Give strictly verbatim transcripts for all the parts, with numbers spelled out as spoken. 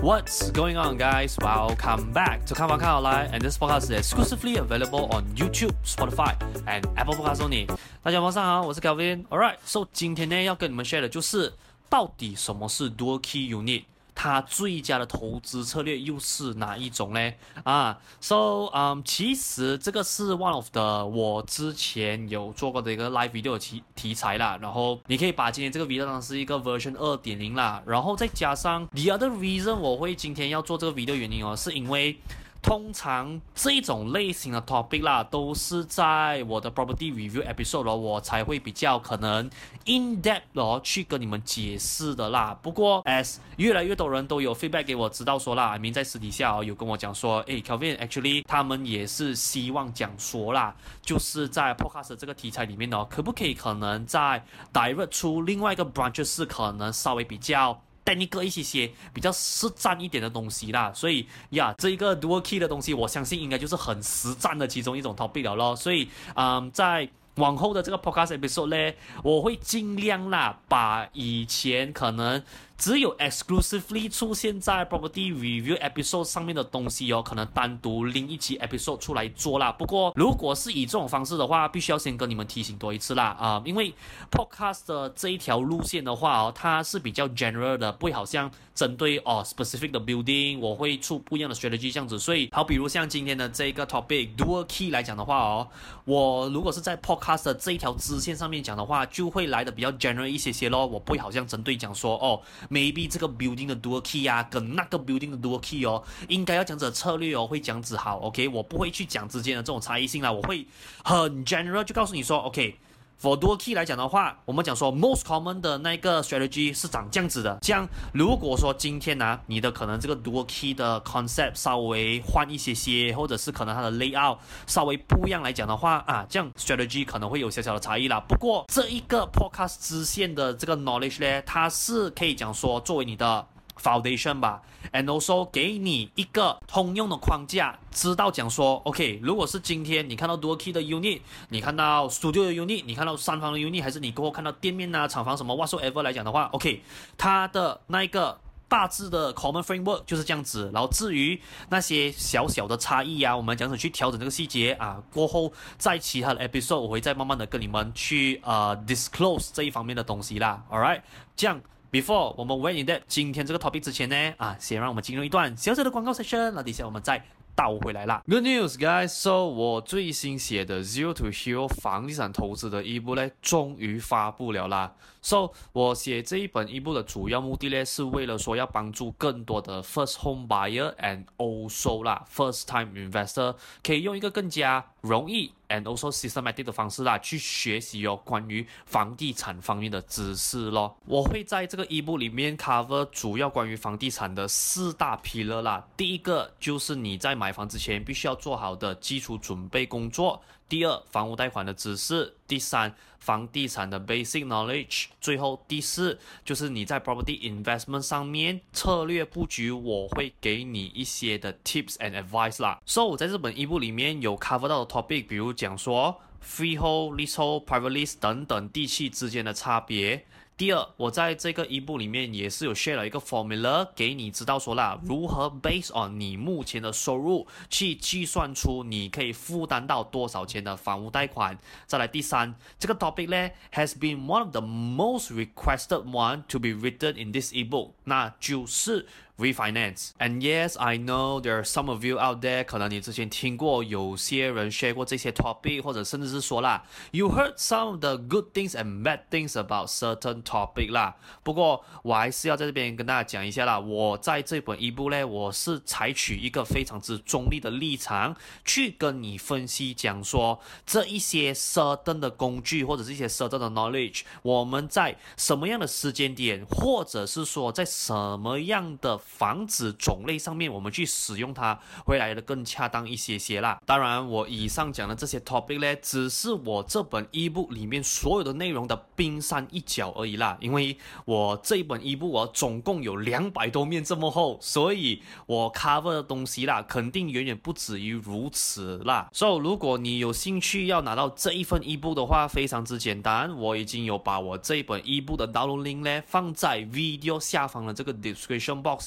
What's going on, guys? Welcome back to看房看好來 and this podcast is exclusively available on YouTube, Spotify, and Apple Podcasts only. 大家晚上好，我是 Kelvin. Alright, so 今天呢要跟你們 share 的就是到底什麼是 Dual Key Unit， 它最佳的投資策略又是哪一種呢？啊 ，so 嗯、um, 其實這個是 one of the 我之前有做過的一個 live video 的題題材啦，然後你可以把今天這個 video 當成是一個 version 二點零 啦，然後再加上 the other reason 我會今天要做這個 video 原因哦，是因為通常這種類型的 topic 啦，都是在我的 property review episode 哦，我才會比較可能 in depth 哦去跟你們解釋的啦。不過 as 越來越多人都有 feedback 給我知道說啦 I mean 在私底下哦有跟我講說，誒 Kelvin actually 他們也是希望講說啦，就是在 podcast 這個題材裡面哦，可不可以可能在 divert 出另外一個 branch 是可能稍微比較technical一些些比較實戰一點的東西啦，所以呀，這一個 dual key 的東西，我相信應該就是很實戰的其中一種 topic 了咯。所以，嗯，在往後的這個 podcast episode 呢，我會盡量啦，把以前可能只有 exclusively 出現在 property review episode 上面的東西哦，可能單獨另一期 episode 出來做啦。不過，如果是以這種方式的話，必須要先跟你們提醒多一次啦啊、呃，因為 podcast 的這一條路線的話哦，它是比較 general 的，不會好像針對哦 specific 的 building， 我會出不一樣的 strategy 這樣子。所以，好比如像今天的這個 topic dual key 來講的話哦，我如果是在 podcast 的這一條支線上面講的話，就會來的比較 general 一些些咯，我不會好像針對講說哦。maybe 這個 building 的 dual key 啊，跟那個 building 的 dual key 哦，應該要講這策略哦，會這樣子好 ，OK， 我不會去講之間的這種差異性啦，我會很 general 就告訴你說 ，OK，for dual key 來講的話，我們講說 most common 的那個 strategy 是長這樣子的，這樣如果說今天呢、啊，你的可能這個 dual key 的 concept 稍微換一些些，或者是可能它的 layout 稍微不一樣來講的話啊，這樣 strategy 可能會有小小的差異啦。不過這一個 podcast 支線的這個 knowledge 呢，它是可以講說作為你的 foundation 吧 ，and also 給你一個通用的框架，知道講說 ，OK， 如果是今天你看到 dual key 的 unit， 你看到 studio 的 unit， 你看到三房的 unit， 還是你過後看到店面啊、廠房什麼 whatsoever 來講的話 ，OK， 它的那一個大致的 common framework 就是這樣子。然後至於那些小小的差異啊，我們講怎去調整這個細節啊，過後在其他的 episode 我會再慢慢的跟你們去呃 disclose 這一方面的東西啦。Alright， 這樣。Before 我們 went in depth 今天這個 topic 之前呢，啊，先讓我們進入一段小小的廣告 session， 那底下我們再倒回來啦。Good news, guys! So 我最新寫的 Zero to Hero 房地產投資的一部呢，終於發布了啦。So 我寫這一本一部的主要目的呢，是為了說要幫助更多的 first home buyer and also 啦 first time investor 可以用一個更加容易 and also systematic 的方式啦，去學習哦關於房地產方面的知識咯。我會在這個一部裡面 cover 主要關於房地產的四大 pillar 啦。第一個就是你在買房之前必須要做好的基礎準備工作。第二，房屋貸款的知識。第三，房地產的 basic knowledge。最後第四，就是你在 property investment 上面策略布局，我會給你一些的 tips and advice 啦。So 我在這本一部裡面有 cover 到的 topic， 比如講說 freehold、leasehold、private lease 等等地契之間的差別。第二，我在這個一部裡面也是有 share 了一個 formula 給你知道說啦，如何 based on 你目前的收入去計算出你可以負擔到多少錢的房屋貸款。再來第三，這個 topic 呢 has been one of the most requested one to be written in this ebook， 那就是 refinance. And yes, I know there are some of you out there， 可能你之前聽過有些人 share 過這些 topic， 或者甚至是說啦 you heard some of the good things and bad things about certain topic 啦。不過我還是要在這邊跟大家講一下啦，我在這本一部呢，我是採取一個非常之中立的立場去跟你分析講說這一些 certain 的工具或者是一些 certain 的 knowledge， 我們在什麼樣的時間點，或者是說在什麼樣的房子種類上面我們去使用它會來的更恰當一些些啦。當然我以上講的這些 topic 呢，只是我這本 ebook 裡面所有的內容的冰山一角而已啦，因為我這一本 ebook 我總共有兩百多面這麼厚，所以我 cover 的東西啦肯定遠遠不止於如此啦。所以如果你有興趣要拿到這一份 ebook 的話，非常之簡單，我已經有把我這一本 ebook 的 download link 呢放在 video 下方的這個 description box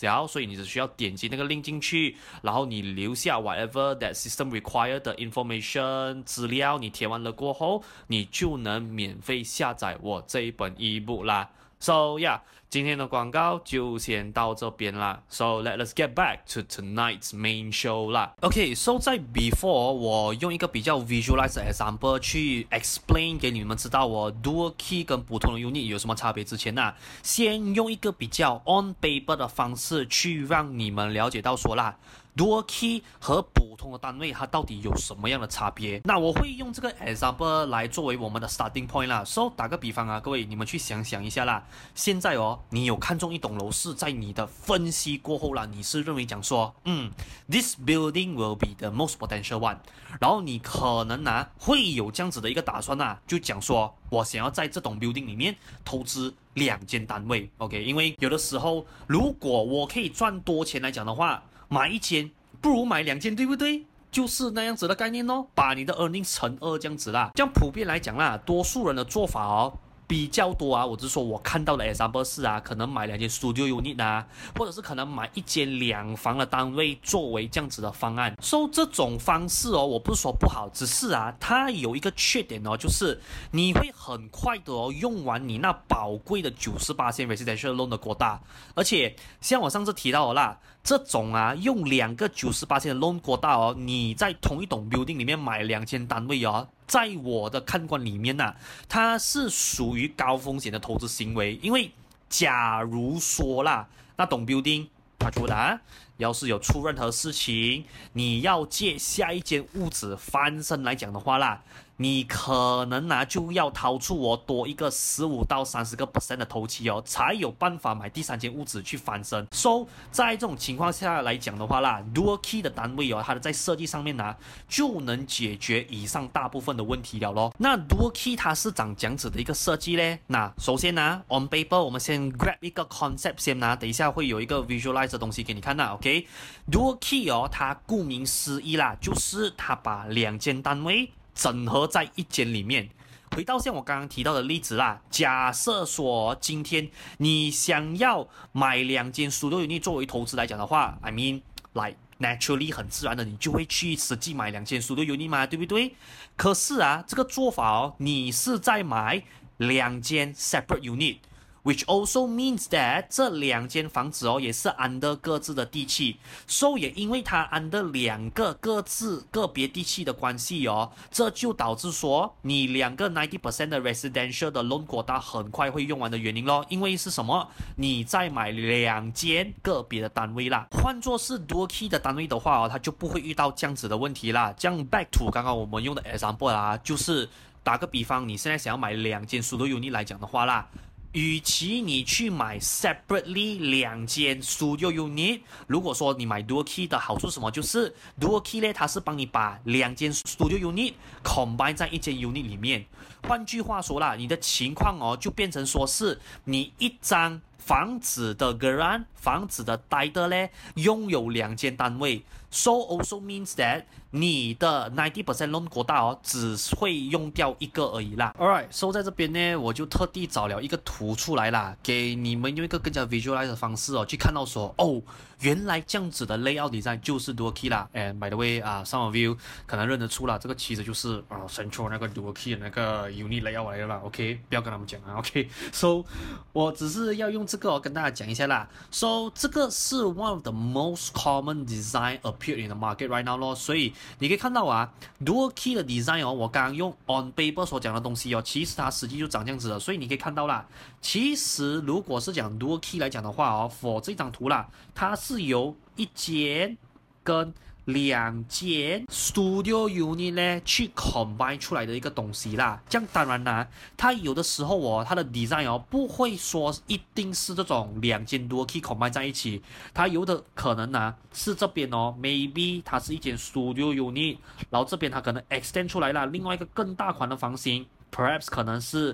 小，所以你只需要點擊那個 link 進去，然後你留下 whatever that system require 的 information 資料，你填完了過後，你就能免費下載我這一本 ebook 啦。So yeah， 今天的廣告就先到這邊啦。So let us get back to tonight's main show 啦。OK，so 在 before 我用一個比較 visualize 的 example 去 explain 給你們知道我 dual key 跟普通的 unit 有什麼差別之前呢，先用一個比較 on paper 的方式去讓你們了解到說啦。Dual key 和普通的單位它到底有什麼樣的差別？那我會用這個 example 來作為我們的 starting point 啦。So 打個比方啊，各位你們去想想一下啦。現在哦，你有看中一棟樓是在你的分析過後啦，你是認為講說，嗯 ，this building will be the most potential one。然後你可能啊會有這樣子的一個打算啊，就講說我想要在這棟 building 裡面投資兩間單位。OK， 因為有的時候如果我可以賺多錢來講的話，買一間不如買兩間，對不對？就是那樣子的概念哦，把你的 earnings 乘二這樣子啦。這樣普遍來講啦，多數人的做法哦比較多啊。我只是說我看到的 example 是啊，可能買兩間 studio unit 啊，或者是可能買一間兩房的單位作為這樣子的方案。So 這種方式哦，我不是說不好，只是啊，它有一個缺點哦，就是你會很快的哦用完你那寶貴的 百分之九十八 residential loan 的 quota， 而且像我上次提到的啦。這種啊，用兩個 百分之九十八 的 loan quota哦，你在同一棟 building 裡面買兩間單位哦，在我的看官裡面吶、啊，它是屬於高風險的投資行為。因為假如說啦，那棟 building 它出啦，要是有出任何事情，你要借下一間屋子翻身來講的話啦，你可能啊就要掏出我多一個十五到三十個 percent 的頭期哦，才有辦法買第三間屋子去翻身。So 在這種情況下來講的話啦 ，dual key 的單位哦，它的在設計上面呢、啊，就能解決以上大部分的問題了咯。那 dual key 它是長這樣子的一個設計咧。那首先呢、啊、，on paper 我們先 grab 一個 concept 先啦、啊，等一下會有一個 visualize 的東西給你看啦。OK，dual key 哦，它顧名思義啦，就是它把兩間單位整合在一間裡面。回到像我剛剛提到的例子啦，假設說今天你想要買兩間 studio unit 作為投資來講的話 I mean like naturally 很自然的你就會去實際買兩間 studio unit 嘛，對不對？可是啊，這個做法哦，你是在買兩間 separate unit。Which also means that 這兩間房子哦也是 under 各自的地契，所、so、以也因為它 under 兩個各自個別地契的關係哦，這就導致說你兩個 ninety percent 的 residential 的 loan quota 很快會用完的原因咯。因為是什麼？你再買兩間個別的單位啦。換作是 dual key 的單位的話哦，它就不會遇到這樣子的問題啦。這樣 back to 剛剛我們用的 example 啦，就是打個比方，你現在想要買兩間 studio unit 來講的話啦。與其你去買 separately 兩間 studio unit， 如果說你買 dual key 的好處是什麼？就是 dual key 呢，它是幫你把兩間 studio unit combine 在一間 unit 裡面。換句話說啦，你的情況哦，就變成說是你一張房子的 grant 房子的 title 呢，擁有兩間單位。So also means that 你的 ninety percent loan quota 哦，只會用掉一個而已啦。Alright， so 在這邊呢，我就特地找了一個圖出來啦，給你們用一個更加 visualize 的方式哦，去看到說，哦，原來這樣子的 layout design 就是 dual key 啦。And by the way 啊、uh, ，some of you 可能認得出啦，這個其實就是啊、uh, central 那個 dual key 的那個 unit layout 來的啦。OK， 不要跟他們講啊。OK，so 我只是要用這個、哦、跟大家講一下啦。So 這個是 one of the most common design appeared in the market right now 咯，所以你可以看到啊 ，dual key 的 design 哦，我剛剛用 on paper 所講的東西哦，其實它實際就長這樣子的，所以你可以看到啦。其實如果是講 dual key 來講的話哦 ，for 這張圖啦，它是由一間跟兩間 studio unit 呢去 combine 出來的一個東西啦。這樣當然啦，它有的時候哦，它的 design 哦不會說一定是這種兩間 dual key combine 在一起，它有的可能啊是這邊哦 ，maybe 它是一間 studio unit， 然後這邊它可能 extend 出來了另外一個更大款的房型。Perhaps 可能是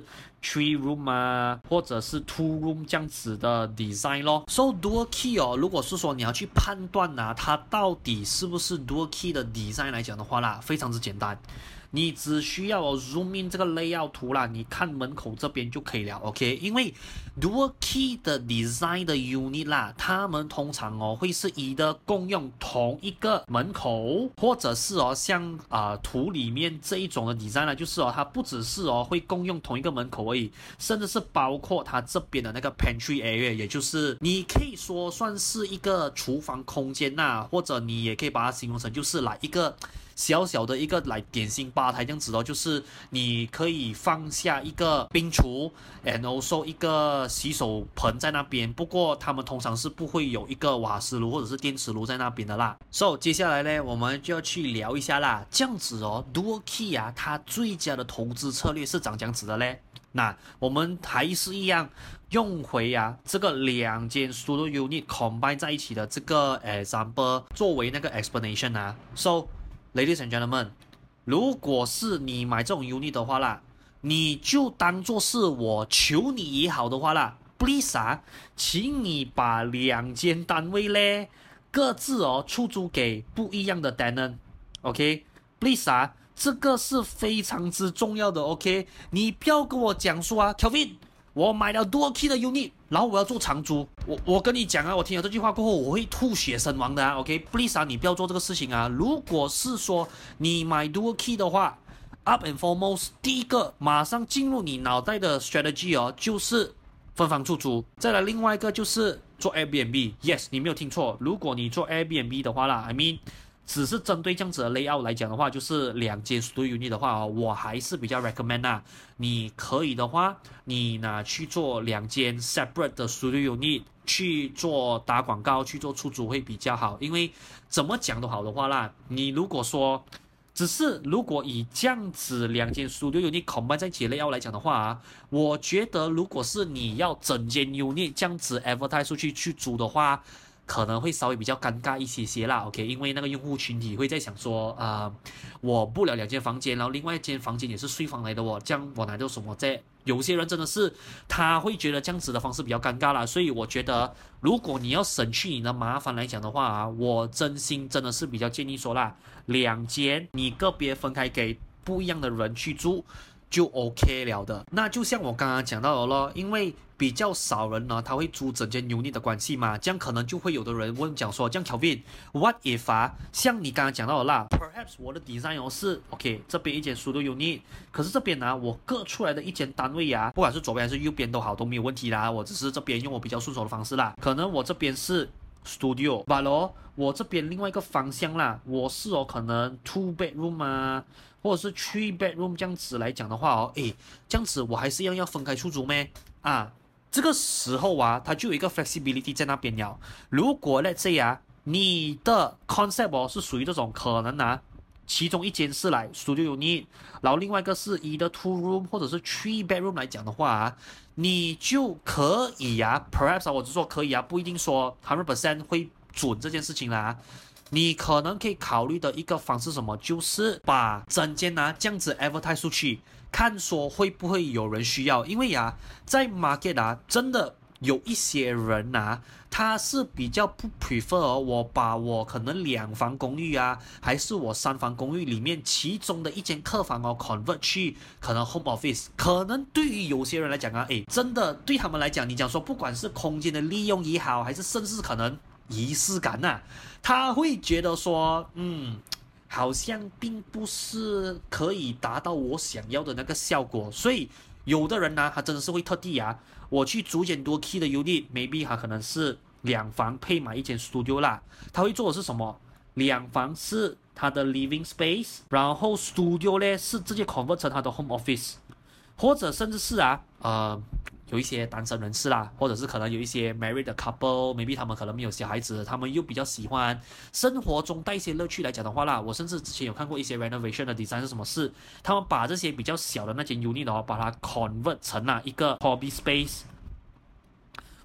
three room 啊，或者是 two room 這樣子的 design 咯。So dual key 哦，如果是說你要去判斷啊，它到底是不是 dual key 的 design 來講的話啦，非常之簡單。你只需要哦 zoom in 這個 layout 圖啦，你看門口這邊就可以了 ，OK？ 因為 dual key 的 design 的 unit 啦，他們通常哦會是以的共用同一個門口，或者是哦像啊、呃、圖裡面這一種的 design 啦，就是哦它不只是哦會共用同一個門口而已，甚至是包括它這邊的那個 pantry area， 也就是你可以說算是一個廚房空間吶，或者你也可以把它形容成就是來一個小小的一個來點心吧台這樣子哦，就是你可以放下一個冰櫥 and also 一個洗手盆在那邊，不過他們通常是不會有一個瓦斯爐或者是電磁爐在那邊的啦。So 接下來呢，我們就要去聊一下啦，這樣子哦 Dual Key 啊，它最佳的投資策略是長這樣子的嘞。那我們還是一樣用回啊這個兩間 Studio Unit combine 在一起的這個 example 作為那個 explanation 啊。So Ladies and gentlemen， 如果是你買這種 unit 的話啦，你就當做是我求你也好的話啦 ，please 啊，請你把兩間單位咧各自哦出租給不一樣的 tenant，OK？Please 啊，這個是非常之重要的 ，OK？ 你不要跟我講說啊 ，Kelvin， 我買了 Dual Key 的 unit。然後我要做長租，我我跟你講啊，我聽了這句話過後，我會吐血身亡的啊 ，OK？Please 啊，你不要做這個事情啊。如果是說你買 Dual Key 的話 ，up and foremost， 第一個馬上進入你腦袋的 strategy 哦，就是分房出租。再來另外一個就是做 Airbnb，yes， 你沒有聽錯，如果你做 Airbnb 的話啦 ，I mean。只是針對這樣子的 layout 來講的話，就是兩間 studio unit 的話哦，我還是比較 recommend 啊。你可以的話，你拿去做兩間 separate 的 studio unit 去做打廣告，去做出租會比較好。因為怎麼講都好的話啦，你如果說只是如果以這樣子兩間 studio unit combine 在一起的 layout 來講的話啊，我覺得如果是你要整間 unit 這樣子 advertise 出去去租的話，可能會稍微比較尷尬一些些啦 ，OK， 因為那個用戶群體會在想說，啊、呃，我不了兩間房間，然後另外一間房間也是睡房來的哦，這樣我拿到什麼在？有些人真的是他會覺得這樣子的方式比較尷尬啦，所以我覺得如果你要省去你的麻煩來講的話啊，我真心真的是比較建議說啦，兩間你個別分開給不一樣的人去住就 OK 了的。那就像我剛剛講到的咯，因為比較少人呢，他會租整間 unit 的關係嘛，這樣可能就會有的人問講說，這樣 Kelvin，what if 啊，像你剛剛講到的啦 ，perhaps 我的 design 哦是 OK， 這邊一間 studio unit， 可是這邊呢、啊，我割出來的一間單位啊，不管是左邊還是右邊都好，都沒有問題啦，我只是這邊用我比較順手的方式啦，可能我這邊是 studio，but 哦，我這邊另外一個方向啦，我是哦可能 two bedroom 啊，或者是 three bedroom 這樣子來講的話哦，誒，這樣子我還是一樣要分開出租咩？啊？這個時候啊，它就有一個 flexibility 在那邊了。如果 let's say 啊，你的 concept 哦是屬於這種可能啊，其中一間是來 studio unit， 然後另外一個是 either two room 或者是 three bedroom 來講的話啊，你就可以啊 ，perhaps 啊，我只說可以啊，不一定說 one hundred percent 會準這件事情啦。你可能可以考慮的一個方式什麼，就是把整間啊這樣子 advertise 出去。看說會不會有人需要，因為啊，在 market 啊，真的有一些人啊，他是比較不 prefer 哦，我把我可能兩房公寓啊，還是我三房公寓裡面其中的一間客房哦 ，convert 去可能 home office， 可能對於有些人來講啊，誒，真的對他們來講，你講說不管是空間的利用也好，還是甚至可能儀式感吶、啊，他會覺得說，嗯。好像並不是可以達到我想要的那個效果，所以有的人呢、啊，他真的是會特地啊，我去租間多 key 的 unit，maybe 他可能是兩房配買一間 studio 啦，他會做的是什麼？兩房是他的 living space， 然後 studio 呢是直接 convert 成他的 home office， 或者甚至是啊，呃。有一些單身人士啦，或者是可能有一些 married 的 couple，maybe 他們可能沒有小孩子，他們又比較喜歡生活中帶一些樂趣來講的話啦，我甚至之前有看過一些 renovation 的 design 是什麼事，他們把這些比較小的那間 unit 哦，把它 convert 成了一個 hobby space，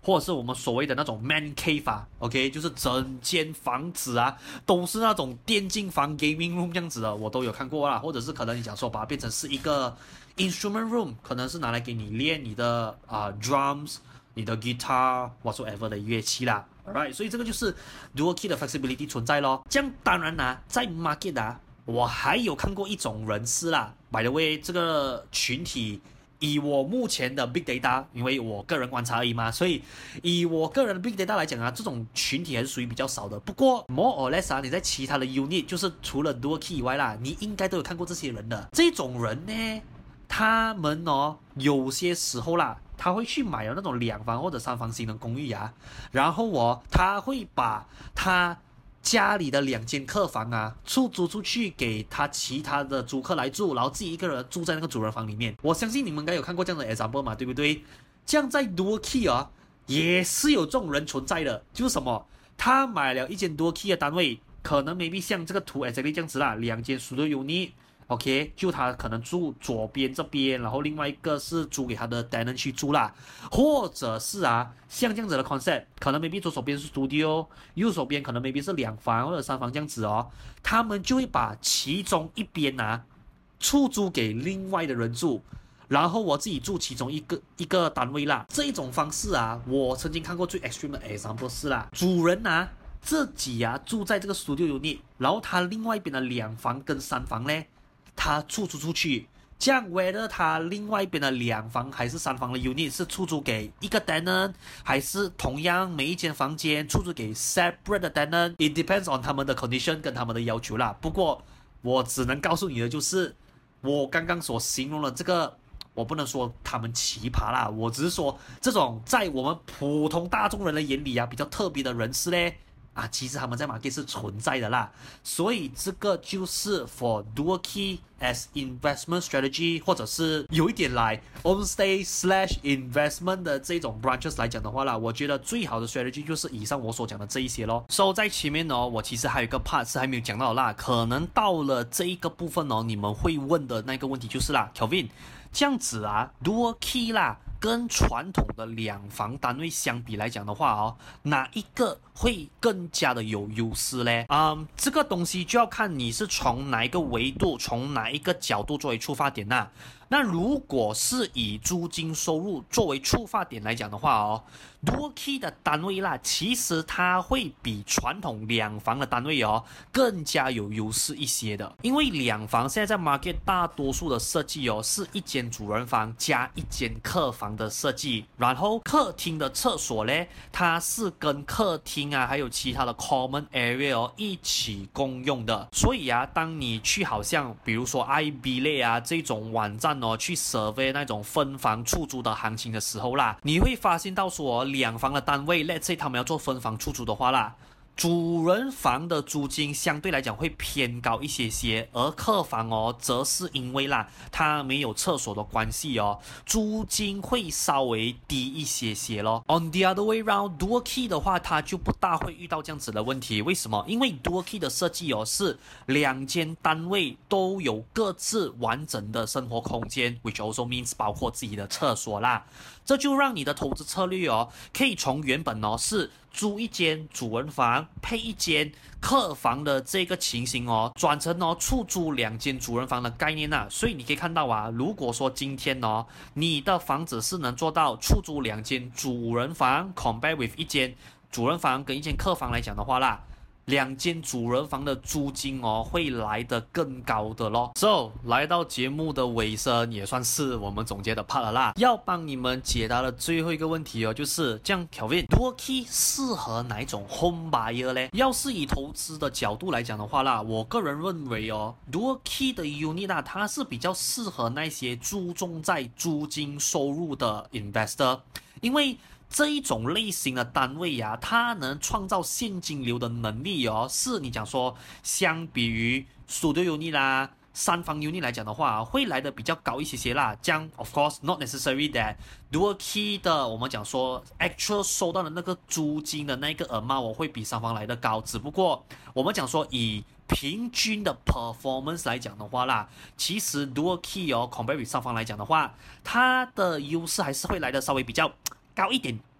或者是我們所謂的那種 man cave 啊 ，OK， 就是整間房子啊都是那種電競房 gaming room 這樣子的，我都有看過啦。或者是可能你講說把它變成是一個 instrument room， 可能是拿來給你練你的啊、呃、drums、你的 guitar whatsoever 的樂器啦。Alright， 所以這個就是 dual key 的 flexibility 存在咯。這樣當然啦，在 market 啊，我還有看過一種人士啦。By the way， 這個群體以我目前的 big data， 因為我個人觀察而已嘛，所以以我個人的 big data 來講啊，這種群體還是屬於比較少的。不過 more or less 啊，你在其他的 unit， 就是除了 dual key 以外啦，你應該都有看過這些人的。這種人呢，他們哦，有些時候啦，他會去買了那種兩房或者三房型的公寓啊，然後哦，他會把他家裡的兩間客房啊出租出去給他其他的租客來住，然後自己一個人住在那個主人房裡面。我相信你們應該有看過這樣的 example 嘛，對不對？這樣在 dual key 啊，也是有這種人存在的，就是什麼？他買了一間 dual key 的單位，可能 maybe 像這個圖 exactly 這樣子啦，兩間 studio unit。OK， 就他可能住左邊這邊，然後另外一個是租給他的 tenant 去住啦，或者是啊，像這樣子的 concept， 可能 maybe 左手邊是 studio， 右手邊可能 maybe 是兩房或者三房這樣子哦，他們就會把其中一邊啊出租給另外的人住，然後我自己住其中一個一個單位啦。這一種方式啊，我曾經看過最 extreme 的 example 是啦，主人啊自己啊住在這個 studio unit， 然後他另外一邊的兩房跟三房呢，他出租出去，這樣 whether 他另外一邊的兩房還是三房的 unit 是出租給一個 tenant， 還是同樣每一間房間出租給 separate 的 tenant，it depends on 他們的 condition 跟他們的要求啦。不過我只能告訴你的就是，我剛剛所形容的這個，我不能說他們奇葩啦，我只是說這種在我們普通大眾人的眼裡啊比較特別的人士呢。啊，其實他們在 market 是存在的啦，所以這個就是 for dual key as investment strategy， 或者是有一點來 homestay slash investment 的這種 branches 來講的話啦，我覺得最好的 strategy 就是以上我所講的這一些咯。So 在前面哦，我其實還有一個 part 是還沒有講到的啦，可能到了這一個部分哦，你們會問的那個問題就是啦 ，Kelvin， 這樣子啊 ，dual key 啦。跟傳統的兩房單位相比來講的話哦，哪一個會更加的有優勢呢？嗯，這個東西就要看你是從哪一個維度、從哪一個角度作為出發點吶、啊。那如果是以租金收入作為出發點來講的話哦 ，dual key 的單位啦，其實它會比傳統兩房的單位哦更加有優勢一些的。因為兩房現在在 market 大多數的設計哦是一間主人房加一間客房的設計，然後客廳的廁所呢，它是跟客廳啊還有其他的 common area 哦一起共用的。所以啊，當你去好像比如說 I B 類啊這種網站哦去 survey 那種分房出租的行情的時候啦，你會發現到說兩房的單位 let's say 他們要做分房出租的話啦，主人房的租金相對來講會偏高一些些，而客房哦，則是因為啦，它沒有廁所的關係哦，租金會稍微低一些些咯。On the other way round， dual key 的話，它就不大會遇到這樣子的問題。為什麼？因為 dual key 的設計哦，是兩間單位都有各自完整的生活空間 ，which also means 包括自己的廁所啦。這就讓你的投資策略哦，可以從原本哦是租一間主人房配一間客房的這個情形哦，轉成哦出租兩間主人房的概念啊。所以你可以看到啊，如果說今天哦你的房子是能做到出租兩間主人房 compare with 一間主人房跟一間客房來講的話啦，兩間主人房的租金哦會來得更高的咯。So 來到節目的尾聲，也算是我們總結的 part 了啦。要幫你們解答的最後一個問題哦，就是這樣 Kelvin dual key 適合哪一種 home buyer 呢？要是以投資的角度來講的話啦，我個人認為哦 dual key 的 unit 啊，它是比較適合那些注重在租金收入的 investor， 因為這一種類型的單位呀、啊，它能創造現金流的能力哦，是你講說相比於 studio unit 啦、三房 unit 來講的話，會來的比較高一些些啦。這樣 of course not necessary that dual key 的我們講說 actual 收到的那個租金的那個 amount 我會比三房來的高，只不過我們講說以平均的 performance 來講的話啦，其實 dual key 哦 compare with 三房來講的話，它的優勢還是會來的稍微比較高一點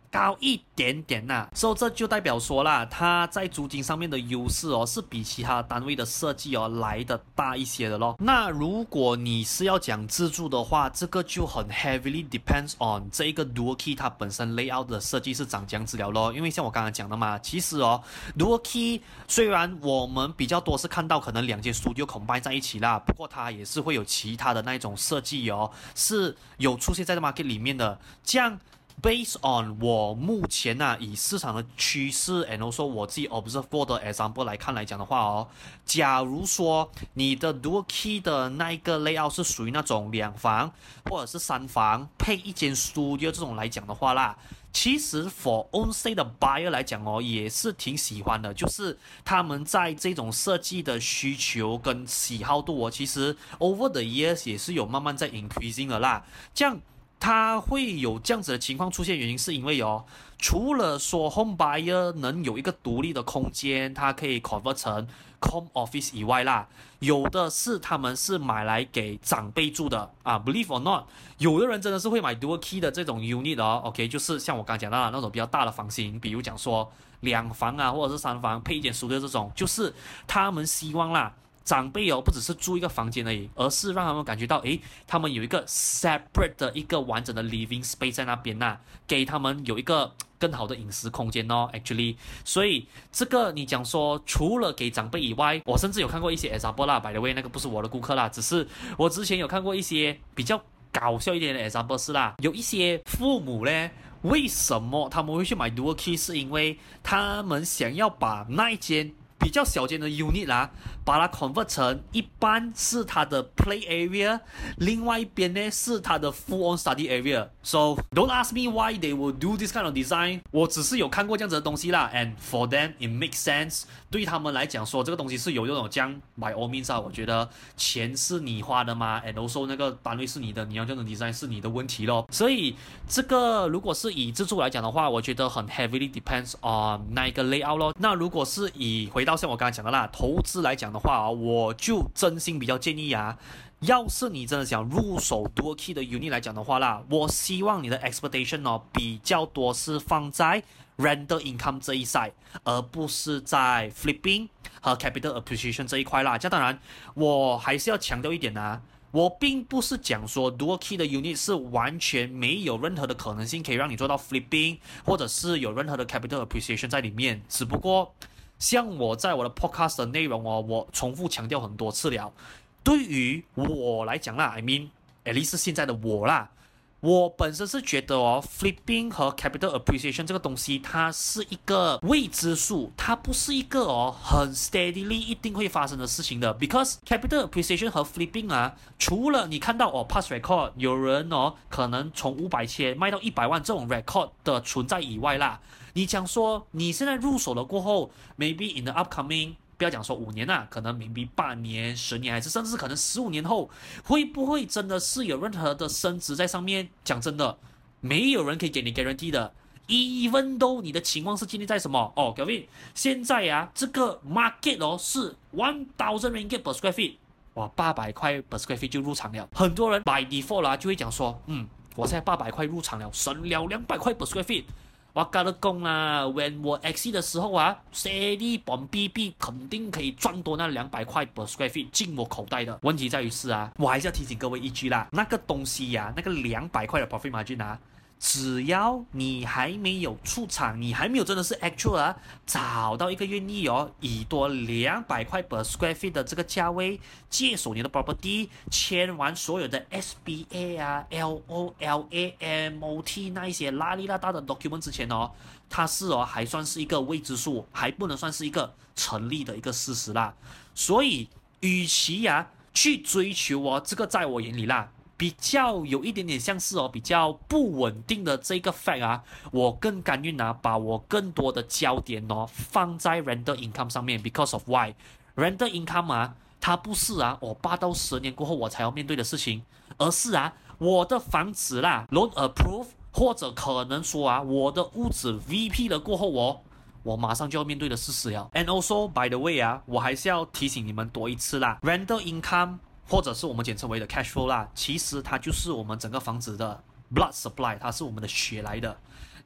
高一點點吶、啊，所以這就代表說啦，它在租金上面的優勢哦，是比其他單位的設計哦來的大一些的咯。那如果你是要講自住的話，這個就很 heavily depends on 這一個 Dual Key 它本身 layout 的設計是長這樣子了咯。因為像我剛剛講的嘛，其實哦 Dual Key 雖然我們比較多是看到可能兩間 studio combine 在一起啦，不過它也是會有其他的那一種設計哦，是有出現在這 market 裡面的，這樣。Based on 我目前吶、啊，以市場的趨勢 and also 我自己 observe 過的 example 來看來講的話哦，假如說你的 Dual Key 的那一個 layout 是屬於那種兩房或者是三房配一間 studio 這種來講的話啦，其實 for on site 的 buyer 來講哦，也是挺喜歡的，就是他們在這種設計的需求跟喜好度哦，其實 over the years 也是有慢慢在 increasing 的啦，這樣。它會有這樣子的情況出現，原因是因為哦，除了說 home buyer 能有一個獨立的空間，它可以 convert 成 home office 以外啦，有的是他們是買來給長輩住的啊 ，believe or not， 有的人真的是會買 dual key 的這種 unit 哦 ，OK， 就是像我剛剛講到的那種比較大的房型，比如講說兩房啊或者是三房配一間書的這種，就是他們希望啦。長輩哦，不只是住一個房間而已，而是讓他們感覺到，誒，他們有一個 separate 的一個完整的 living space 在那邊吶、啊，給他們有一個更好的隱私空間哦。Actually， 所以這個你講說，除了給長輩以外，我甚至有看過一些 example 啦 ，by the way，那個不是我的顧客啦，只是我之前有看過一些比較搞笑一點的 example 是啦，有一些父母呢，為什麼他們會去買 dual key？ 是因為他們想要把那一間比較小間的 unit 啦，把它 convert 成一半是它的 play area， 另外一邊呢是它的 full on study area。So don't ask me why they will do this kind of design。我只是有看過這樣子的東西啦 ，and for them it makes sense。對他們來講說這個東西是有這種這樣 by all means 啊，我覺得錢是你花的嘛 ，and also 那個單位是你的，你要這種 design 是你的問題咯。所以這個如果是以自住來講的話，我覺得很 heavily depends on 那一個 layout 咯。那如果是以回到像我剛才講的啦，投資來講的話啊，我就真心比較建議啊，要是你真的想入手 dual key 的 unit 來講的話啦，我希望你的 expectation 哦比較多是放在 rental income 這一 side， 而不是在 flipping 和 capital appreciation 這一塊啦。這當然，我還是要強調一點啊，我並不是講說 dual key 的 unit 是完全沒有任何的可能性可以讓你做到 flipping， 或者是有任何的 capital appreciation 在裡面，只不過像我在我的 podcast 的內容哦，我重複強調很多次了。對於我來講啦 ，I mean at least 是現在的我啦，我本身是覺得哦 ，flipping 和 capital appreciation 這個東西，它是一個未知數，它不是一個哦很 steadily 一定會發生的事情的。Because capital appreciation 和 flipping 啊，除了你看到哦 past record 有人哦可能從五百千賣到一百萬這種 record 的存在以外啦。你講說你現在入手了過後 ，maybe in the upcoming， 不要講說五年啦，可能 maybe 八年、十年，還是甚至可能十五年後，會不會真的是有任何的升值在上面？講真的，沒有人可以給你 guarantee 的。Even though 你的情況是建立在什麼？哦 ，Kevin， 現在啊，這個 market 哦是 one thousand ringgit per square feet， 哇，八百塊 per square feet 就入場了。很多人 by default 啦就會講說，嗯，我現在八百塊入場了，省了兩百塊 per square feet。我跟你講啦 ，when 我 exit 的時候啊 ，steady bomb B B 肯定可以賺多那兩百塊 per square feet 進我口袋的。問題在於是啊，我還是要提醒各位一句啦，那個東西呀、啊，那個兩百塊的 profit margin 啊。只要你還沒有出場，你還沒有真的是 actual 啊，找到一個願意哦，以多兩百塊 per square feet 的這個價位接手你的 property， 簽完所有的 S B A 啊、L O L A M O T 那一些拉里拉大的 document 之前哦，它是哦還算是一個未知數，還不能算是一個成立的一個事實啦。所以，與其啊去追求哦，這個在我眼裡啦。比較有一點點像是哦，比較不穩定的這個 fact 啊，我更甘願啊，把我更多的焦點哦放在 rental income 上面 ，because of why rental income 啊，它不是啊，我八到十年過後我才要面對的事情，而是啊，我的房子啦 ，loan approve 或者可能說啊，我的屋子 V P 了過後哦，我馬上就要面對的事實了。And also by the way 啊，我還是要提醒你們多一次啦 ，rental income。或者是我們簡稱為的 cash flow 啦，其實它就是我們整個房子的 blood supply， 它是我們的血來的。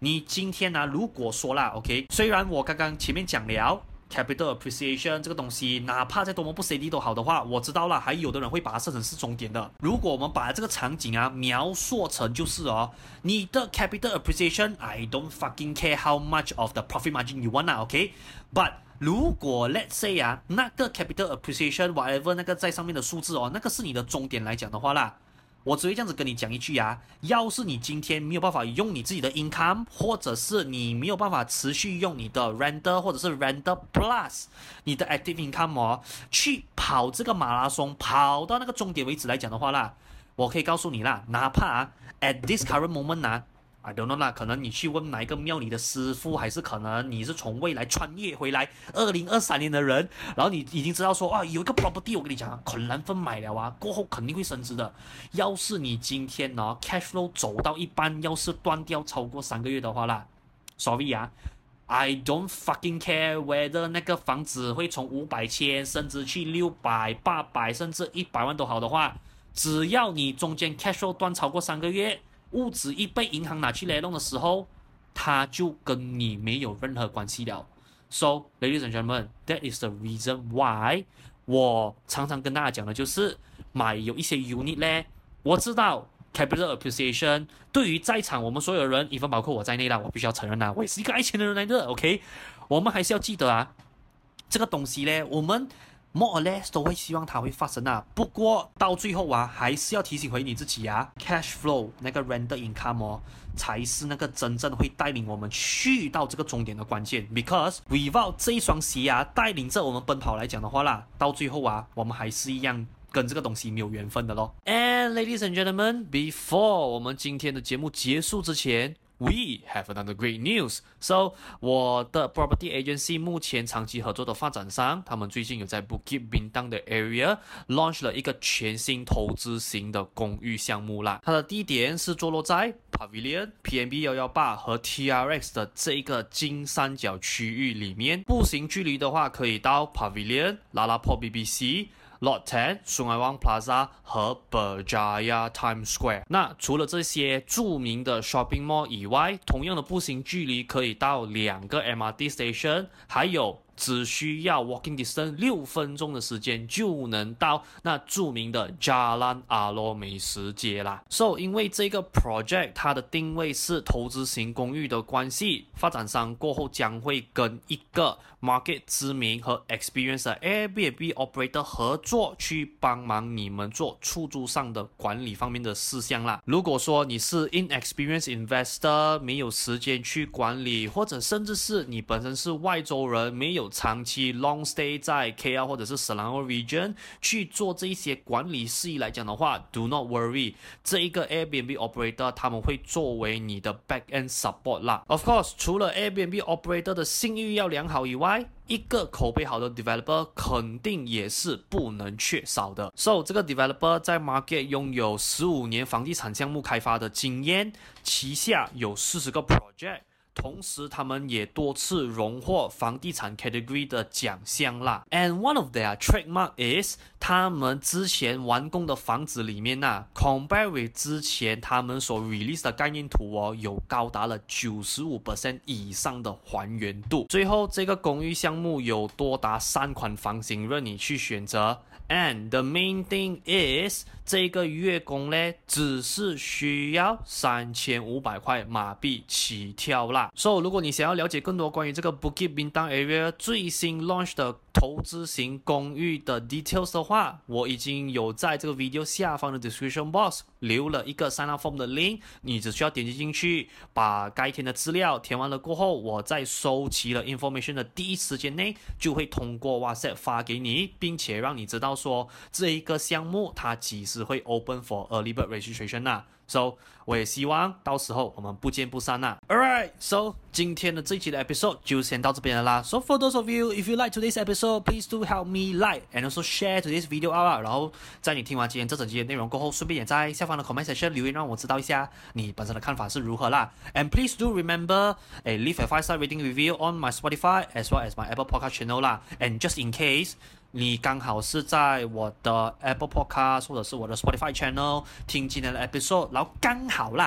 你今天呢、啊，如果說啦 ，OK， 雖然我剛剛前面講了 capital appreciation 這個東西，哪怕再多麼不 steady 都好的話，我知道了，還有的人會把它設成是終點的。如果我們把這個場景啊描述成就是哦，你的 capital appreciation，I don't fucking care how much of the profit margin you want 啊 ，OK，but 如果 let's say 啊，那個 capital appreciation whatever 那個在上面的數字哦，那個是你的終點來講的話啦。我只會這樣子跟你講一句啊，要是你今天沒有辦法用你自己的 income， 或者是你沒有辦法持續用你的 render 或者是 render plus 你的 active income 哦，去跑這個馬拉松，跑到那個終點為止來講的話啦，我可以告訴你啦，哪怕啊 at this current moment 啊，I don't know 啦，可能你去問哪一個廟裡的師傅，還是可能你是從未來穿越回來二零二三年的人，然後你已經知道說啊，有一個 property 我跟你講，可能分買了啊，過後肯定會升值的。要是你今天呢 cash flow 走到一半，要是斷掉超過三個月的話啦 ，sorry 啊 ，I don't fucking care whether 那個房子會從五百千升值去六百、八百甚至一百萬都好的話，只要你中間 cash flow 斷超過三個月。物質一被銀行拿去來弄的時候，它就跟你沒有任何關係了。So, ladies and gentlemen, that is the reason why 我常常跟大家講的就是買有一些 unit 呢。我知道 capital appreciation 對於在場我們所有人，even包括我在內啦，我必須要承認啦，我也是一個愛錢的人來的。OK， 我們還是要記得啊，這個東西呢，我們more or less 都會希望它會發生啊，不過到最後啊，還是要提醒回你自己啊 ，cash flow 那個 render income 哦，才是那個真正會帶領我們去到這個終點的關鍵。Because without 這一雙鞋啊，帶領着我們奔跑來講的話啦，到最後啊，我們還是一樣跟這個東西沒有緣分的咯。And ladies and gentlemen, before 我們今天的節目結束之前，We have another great news. So, 我的 property agency 目前長期合作的發展商，他們最近有在 Bukit Bintang 的 area launch 了一個全新投資型的公寓項目啦。它的地點是坐落在 Pavilion P M B 一一八和 T R X 的這一個金三角區域裡面，步行距離的話可以到 Pavilion、LaLaport B B C、Lot 十、Sungai Wang Plaza 和 Berjaya Times Square。那除了這些著名的 shopping mall 以外，同樣的步行距離可以到兩個 M R T station， 還有只需要 walking distance 六分鐘的時間就能到那著名的 Jalan Alor 美食街啦。So， 因為這個 project 它的定位是投資型公寓的關係，發展商過後將會跟一個 market 知名和 experience 的 Airbnb operator 合作，去幫忙你們做出租上的管理方面的事項啦。如果說你是 inexperienced investor， 沒有時間去管理，或者甚至是你本身是外州人，沒有長期 long stay 在 K L 或者是 Selangor region 去做這一些管理事宜來講的話 ，do not worry， 這一個 Airbnb operator 他們會作為你的 back end support 啦。Of course， 除了 Airbnb operator 的信譽要良好以外，一個口碑好的 developer 肯定也是不能缺少的。So， 這個 developer 在 market 擁有十五年房地產項目開發的經驗，旗下有四十個 project。同時，他們也多次榮獲房地產 category 的獎項啦。And one of their trademark is 他們之前完工的房子裡面啊 compare with 之前他們所 release 的概念圖哦，有高達了 百分之九十五 以上的還原度。最後，這個公寓項目有多達三款房型任你去選擇。And the main thing is 這個月供呢，只是需要三千五百塊馬幣起跳啦。So， 如果你想要了解更多關於這個 Bukit Bintang area 最新 launch 的投資型公寓的 details 的話，我已經有在這個 video 下方的 description box 留了一個 sign up form 的 link， 你只需要點擊進去，把該填的資料填完了過後，我在收齊了 information 的第一時間內，就會通過 WhatsApp 發給你，並且讓你知道說這一個項目它幾時會 open for early bird registration 啦。So， 我也希望到時候我們不見不散啦。Alright, so 今天的這一期的 episode 就先到這邊了啦。So for those of you, if you like today's episode, please do help me like and also share today's video out 啦。然後在你聽完今天這整集的內容過後，順便也在下方的 comment section 留言，讓我知道一下你本身的看法是如何啦。And please do remember, eh, leave a five star rating review on my Spotify as well as my Apple Podcast channel 啦。And just in case你剛好是在我的 Apple Podcast 或者是我的 Spotify channel 聽今天的 episode， 然後剛好啦，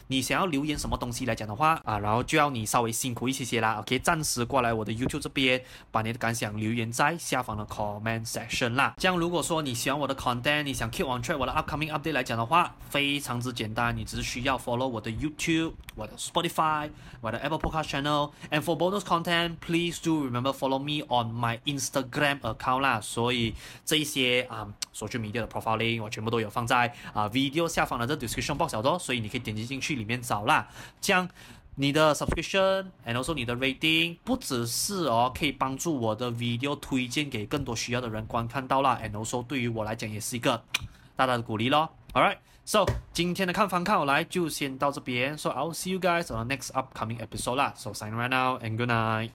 你想要留言什麼東西來講的話啊，然後就要你稍微辛苦一些些啦。OK， 暫時過來我的 YouTube 這邊，把你的感想留言在下方的 comment section 啦。這樣如果說你喜歡我的 content， 你想 keep on track 我的 upcoming update 來講的話，非常之簡單，你只是需要 follow 我的 YouTube、我的 Spotify、我的 Apple Podcast channel。And for bonus content, please do remember follow me on my Instagram account 啦。所以這一些啊、um, social media 的 profile link 我全部都有放在啊、uh, video 下方的這 description box 了，所以你可以點擊進去裡面找啦。這樣你的 subscription and also 你的 rating 不只是哦可以幫助我的 video 推薦給更多需要的人觀看到啦 and also 對於我來講也是一個大大的鼓勵咯。Alright, so 今天的看房看好來就先到這邊。So I'll see you guys on the next upcoming episode 啦。So sign right now and good night.